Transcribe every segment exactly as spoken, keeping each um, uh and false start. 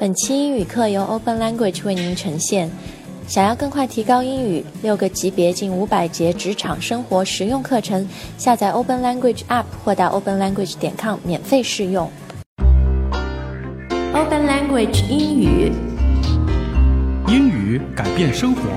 本期英语课由 Open Language 为您呈现。想要更快提高英语，六个级别近五百节职场生活实用课程，下载 Open Language App 或到 open language 点 com 免费试用。Open Language 英语， 英语改变生活。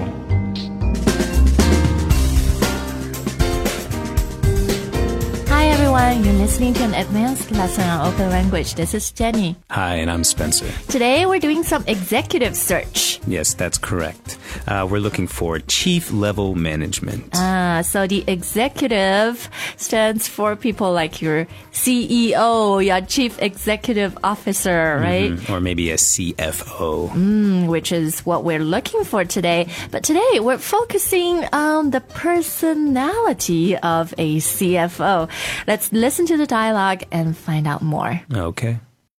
Hi everyone, you're listening to an advanced lesson on Open Language. This is Jenny. Hi, and I'm Spencer. Today we're doing some executive search. Yes, that's correct. Uh, we're looking for chief level management. Ah, so the executive stands for people like your C E O, your chief executive officer, right? Mm-hmm. Or maybe a C F O. Mm, which is what we're looking for today. But today we're focusing on the personality of a C F O. Let's listen to the dialogue and find out more. Okay.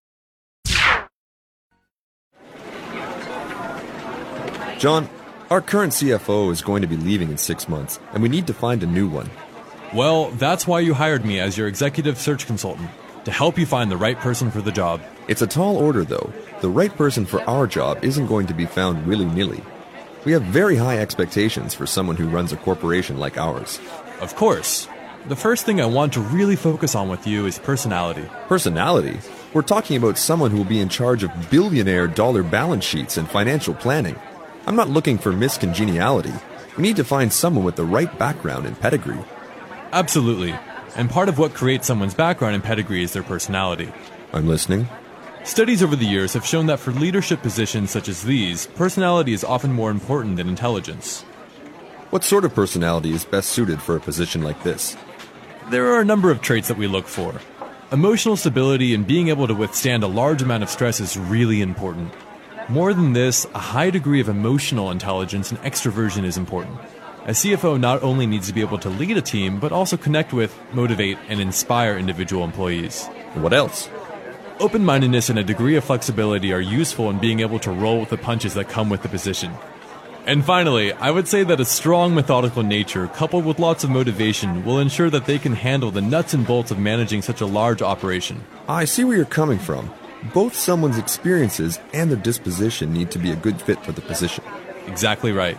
John, our current C F O is going to be leaving in six months, and we need to find a new one. Well, that's why you hired me as your executive search consultant, to help you find the right person for the job. It's a tall order, though. The right person for our job isn't going to be found willy-nilly. We have very high expectations for someone who runs a corporation like ours. Of course. The first thing I want to really focus on with you is personality. Personality? We're talking about someone who will be in charge of billionaire dollar balance sheets and financial planning. I'm not looking for miscongeniality. We need to find someone with the right background and pedigree. Absolutely. And part of what creates someone's background and pedigree is their personality. I'm listening. Studies over the years have shown that for leadership positions such as these, personality is often more important than intelligence. What sort of personality is best suited for a position like this? There are a number of traits that we look for. Emotional stability and being able to withstand a large amount of stress is really important. More than this, a high degree of emotional intelligence and extroversion is important. A C F O not only needs to be able to lead a team, but also connect with, motivate, and inspire individual employees. And what else? Open-mindedness and a degree of flexibility are useful in being able to roll with the punches that come with the position. And finally, I would say that a strong methodical nature coupled with lots of motivation will ensure that they can handle the nuts and bolts of managing such a large operation. I see where you're coming from. Both someone's experiences and their disposition need to be a good fit for the position. Exactly right.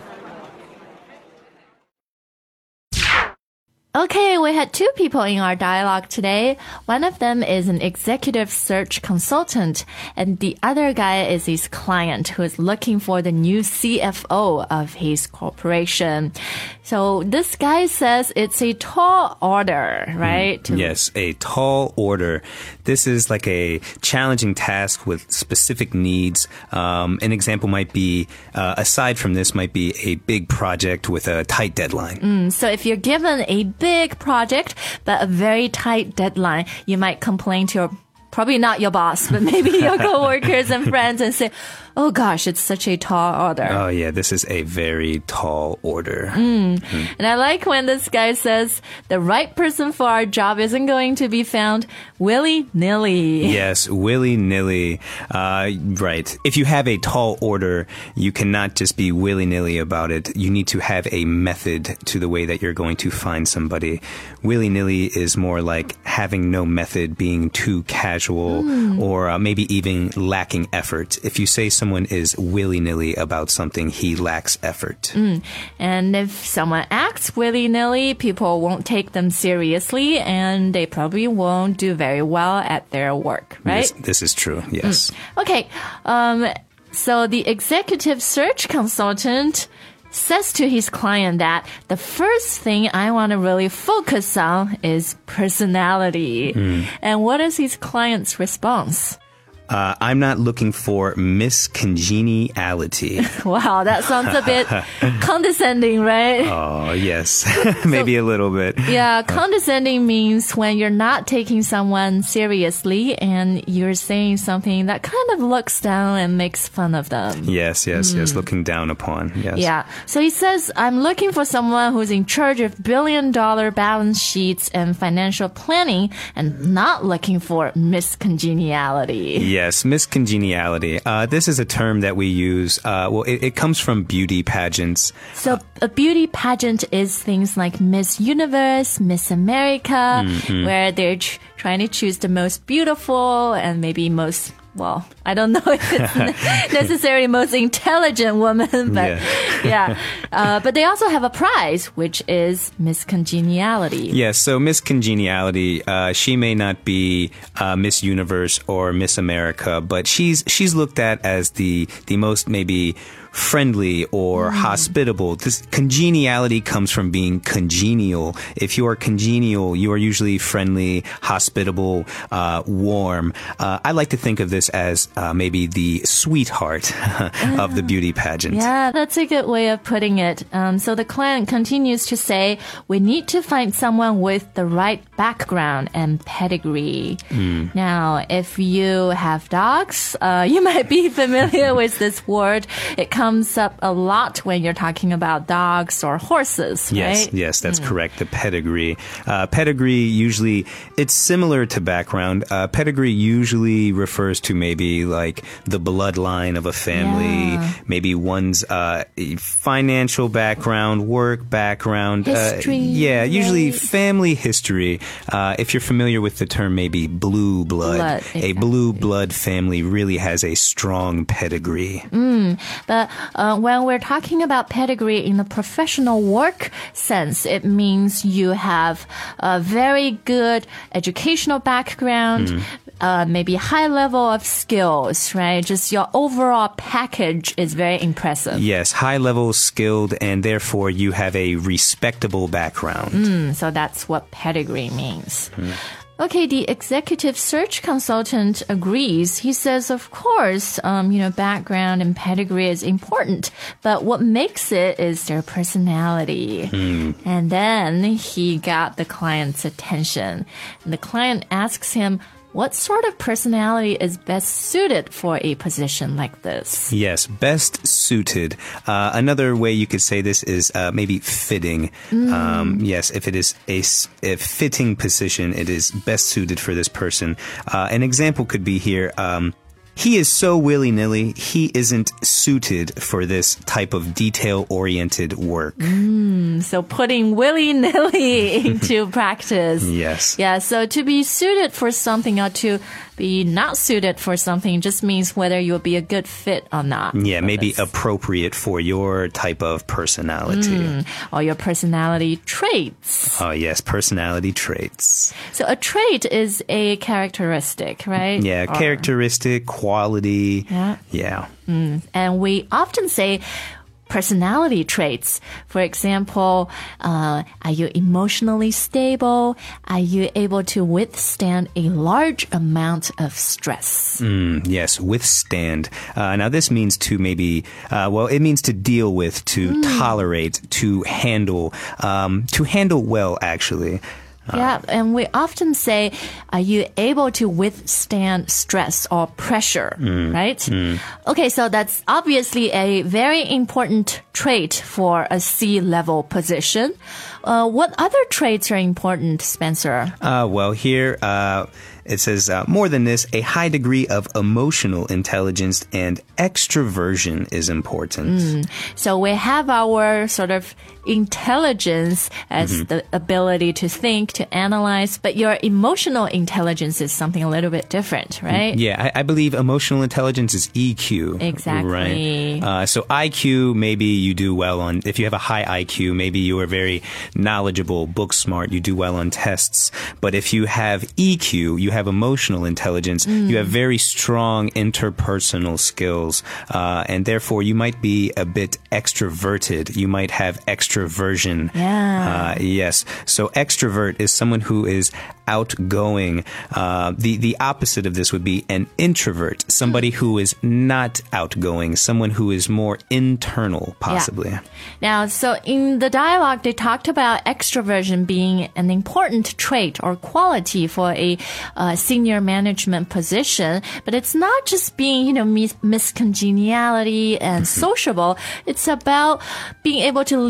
Okay, we had two people in our dialogue today. One of them is an executive search consultant, and the other guy is his client who is looking for the new C F O of his corporation. So this guy says it's a tall order, right? Mm, yes, a tall order. This is like a challenging task with specific needs. Um, an example might be, uh, aside from this, might be a big project with a tight deadline. Mm, so if you're given a big project, but a very tight deadline, you might complain to your, probably not your boss, but maybe your coworkers and friends and say, oh gosh, it's such a tall order. Oh yeah, this is a very tall order. Mm. Mm. And I like when this guy says the right person for our job isn't going to be found willy-nilly. Yes, willy-nilly. Uh, right. If you have a tall order, you cannot just be willy-nilly about it. You need to have a method to the way that you're going to find somebody. Willy-nilly is more like having no method, being too casual, mm. or uh, maybe even lacking effort. If you say someone is willy-nilly about something, he lacks effort. Mm. And if someone acts willy-nilly, people won't take them seriously, and they probably won't do very well at their work, right? This, this is true, yes. Mm. Okay, um, so the executive search consultant says to his client that the first thing I want to really focus on is personality. Mm. And what is his client's response? Uh, I'm not looking for miscongeniality. Wow, that sounds a bit condescending, right? Oh, yes. Maybe so, a little bit. Yeah, condescending means when you're not taking someone seriously and you're saying something that kind of looks down and makes fun of them. Yes, yes, mm. yes, looking down upon. Yes. Yeah. So he says, I'm looking for someone who's in charge of billion dollar balance sheets and financial planning and not looking for miscongeniality. Yeah. Yes, miscongeniality. Uh, this is a term that we use. Uh, well, it, it comes from beauty pageants. So a beauty pageant is things like Miss Universe, Miss America, mm-hmm. where they're ch- trying to choose the most beautiful and maybe most well, I don't know if it's necessarily most intelligent woman, but yeah. yeah. Uh, but they also have a prize, which is Miss Congeniality. Yes, so Miss Congeniality, uh, she may not be uh, Miss Universe or Miss America, but she's she's looked at as the the most maybe friendly or mm. hospitable. This congeniality comes from being congenial. If you are congenial, you are usually friendly, hospitable, uh, warm. Uh, I like to think of this as uh, maybe the sweetheart of the beauty pageant. Yeah, that's a good way of putting it. Um, so the client continues to say, we need to find someone with the right background and pedigree. Mm. Now, if you have dogs, uh, you might be familiar with this word. It comes comes up a lot when you're talking about dogs or horses, yes, right? Yes, that's mm. correct. The pedigree. Uh, pedigree usually, it's similar to background. Uh, pedigree usually refers to maybe like the bloodline of a family, yeah. maybe one's uh, financial background, work background. History. Uh, yeah, usually right? family history. Uh, if you're familiar with the term maybe blue blood, blood exactly. a blue blood family really has a strong pedigree. Mm, but Uh, when we're talking about pedigree in the professional work sense, it means you have a very good educational background, mm. uh, maybe high level of skills, right? Just your overall package is very impressive. Yes, high level skilled, and therefore you have a respectable background. Mm, so that's what pedigree means. Mm. Okay, the executive search consultant agrees. He says, of course, um, you know, background and pedigree is important, but what makes it is their personality. Mm. And then he got the client's attention. And the client asks him, what sort of personality is best suited for a position like this? Yes, best suited. Uh, another way you could say this is uh, maybe fitting. Mm. Um, yes, if it is a, a fitting position, it is best suited for this person. Uh, an example could be here. Um, He is so willy-nilly, he isn't suited for this type of detail-oriented work. Mm, so putting willy-nilly into practice. Yes. Yeah, so to be suited for something or to be not suited for something just means whether you'll be a good fit or not. Yeah, maybe this. appropriate for your type of personality. Mm, or your personality traits. Oh, yes, personality traits. So a trait is a characteristic, right? Yeah, or, characteristic, quality. Yeah. Yeah. Mm, and we often say personality traits. For example, uh, are you emotionally stable? Are you able to withstand a large amount of stress? Mm, yes, withstand. Uh, now, this means to maybe, uh, well, it means to deal with, to mm. tolerate, to handle, um, to handle well, actually. Yeah, and we often say, are you able to withstand stress or pressure, mm, right? Mm. Okay, so that's obviously a very important trait for a C-level position. Uh, what other traits are important, Spencer? Uh, well, here uh, it says, uh, more than this, a high degree of emotional intelligence and extroversion is important. Mm. So we have our sort of intelligence as mm-hmm. the ability to think, to analyze, but your emotional intelligence is something a little bit different, right? Yeah, I, I believe emotional intelligence is E Q. Exactly. Right? Uh, so I Q, maybe you do well on, if you have a high I Q, maybe you are very knowledgeable, book smart, you do well on tests. But if you have E Q, you have emotional intelligence, mm. you have very strong interpersonal skills, uh, and therefore you might be a bit extroverted. You might have extroversion. Yeah. Uh, yes. So extrovert is someone who is outgoing. Uh, the, the opposite of this would be an introvert, somebody who is not outgoing, someone who is more internal, possibly. Yeah. Now, so in the dialogue, they talked about extroversion being an important trait or quality for a uh, senior management position, but it's not just being, you know, mis- miscongeniality and sociable. It's about being able to lead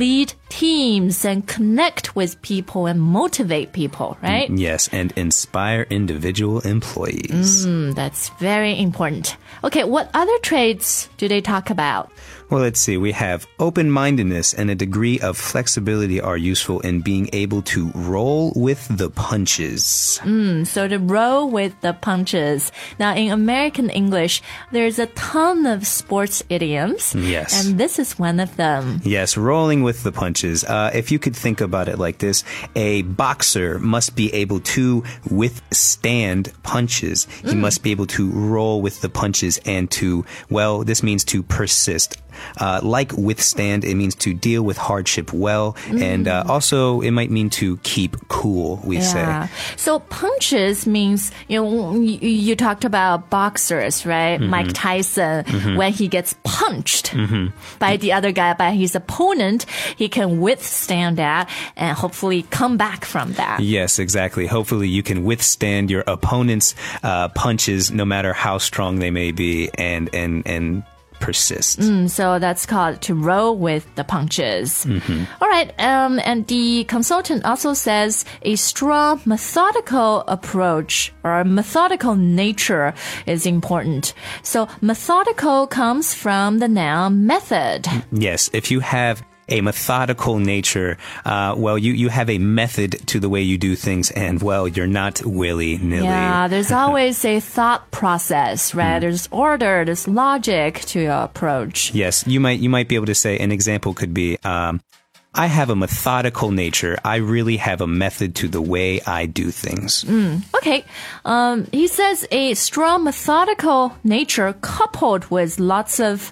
teams and connect with people and motivate people, right? Yes, and inspire individual employees. Mm, that's very important. Okay, what other traits do they talk about? Well, let's see. We have open-mindedness and a degree of flexibility are useful in being able to roll with the punches. Mm, so to roll with the punches. Now, in American English, there's a ton of sports idioms. Yes. And this is one of them. Yes, rolling with the punches. Uh, if you could think about it like this, a boxer must be able to withstand punches. He mm. must be able to roll with the punches and to, well, this means to persist. Uh, like withstand, it means to deal with hardship well. Mm. And uh, also, it might mean to keep cool, we yeah. say. So punches means, you know, you, you talked about boxers, right? Mm-hmm. Mike Tyson, mm-hmm. when he gets punched mm-hmm. by the other guy, by his opponent, he can withstand that and hopefully come back from that. Yes, exactly. Hopefully you can withstand your opponent's uh, punches, no matter how strong they may be, and, and, and, persist. Mm, so that's called to roll with the punches. Mm-hmm. All right. Um, and the consultant also says a strong methodical approach or methodical nature is important. So methodical comes from the noun method. Yes. If you have a methodical nature, uh, well, you, you have a method to the way you do things, and, well, you're not willy-nilly. Yeah, there's always a thought process, right? Mm. There's order, there's logic to your approach. Yes, you might, you might be able to say, an example could be, um, I have a methodical nature. I really have a method to the way I do things. Mm, okay. Um, he says a strong methodical nature coupled with lots of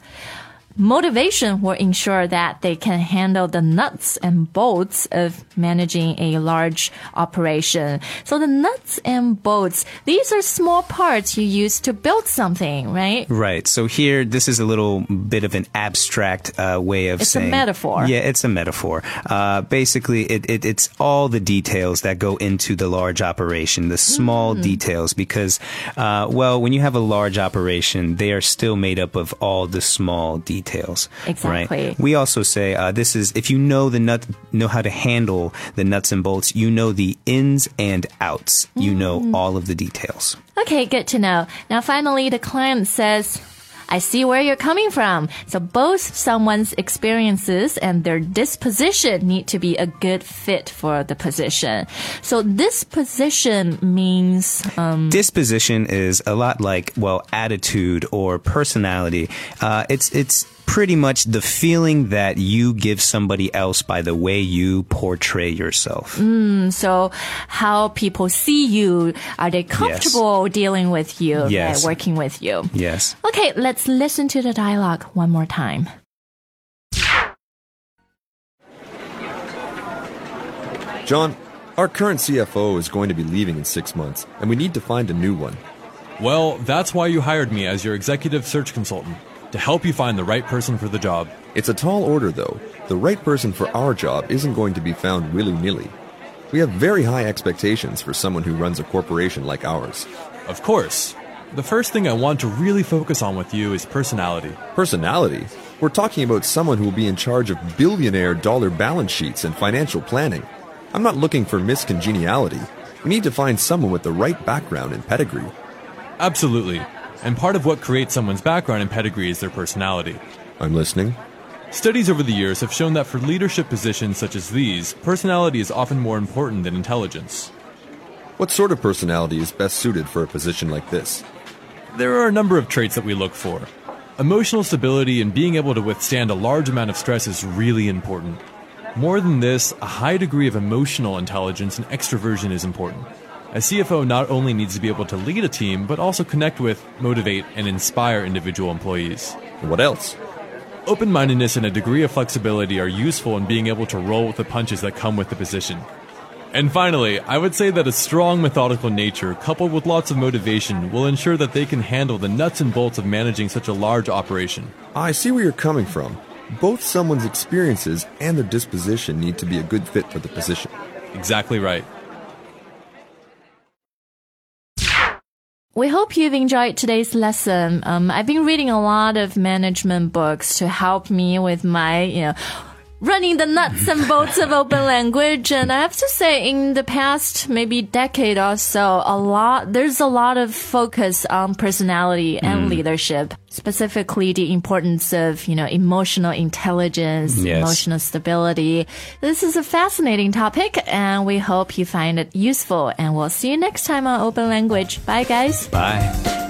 motivation will ensure that they can handle the nuts and bolts of managing a large operation. So the nuts and bolts, these are small parts you use to build something, right? Right. So here, this is a little bit of an abstract uh, way of it's saying... It's a metaphor. Yeah, it's a metaphor. Uh, basically, it, it, it's all the details that go into the large operation, the small mm. details, because, uh, well, when you have a large operation, they are still made up of all the small details. Details, exactly. Right? We also say uh, this is if you know the nut, know how to handle the nuts and bolts. You know the ins and outs. You mm. know all of the details. Okay, good to know. Now, finally, the client says, I see where you're coming from. So both someone's experiences and their disposition need to be a good fit for the position. So disposition means... Um, disposition is a lot like, well, attitude or personality. Uh, it's, it's pretty much the feeling that you give somebody else by the way you portray yourself. Mm, so how people see you, are they comfortable yes. dealing with you, yes. right, working with you? Yes. Okay, let's listen to the dialogue one more time. John, our current C F O is going to be leaving in six months, and we need to find a new one. Well, that's why you hired me as your executive search consultant, to help you find the right person for the job. It's a tall order, though. The right person for our job isn't going to be found willy-nilly. We have very high expectations for someone who runs a corporation like ours. Of course. The first thing I want to really focus on with you is personality. Personality? We're talking about someone who will be in charge of billionaire dollar balance sheets and financial planning. I'm not looking for miscongeniality. We need to find someone with the right background and pedigree. Absolutely. And part of what creates someone's background and pedigree is their personality. I'm listening. Studies over the years have shown that for leadership positions such as these, personality is often more important than intelligence. What sort of personality is best suited for a position like this? There are a number of traits that we look for. Emotional stability and being able to withstand a large amount of stress is really important. More than this, a high degree of emotional intelligence and extroversion is important. A C F O not only needs to be able to lead a team, but also connect with, motivate, and inspire individual employees. What else? Open-mindedness and a degree of flexibility are useful in being able to roll with the punches that come with the position. And finally, I would say that a strong methodical nature, coupled with lots of motivation, will ensure that they can handle the nuts and bolts of managing such a large operation. I see where you're coming from. Both someone's experiences and their disposition need to be a good fit for the position. Exactly right. We hope you've enjoyed today's lesson. Um, I've been reading a lot of management books to help me with my, you know, running the nuts and bolts of open language. And I have to say, in the past maybe decade or so, a lot there's a lot of focus on personality and mm. leadership, specifically the importance of, you know, emotional intelligence, yes. emotional stability. This is a fascinating topic, and we hope you find it useful. And we'll see you next time on Open Language. Bye, guys. Bye.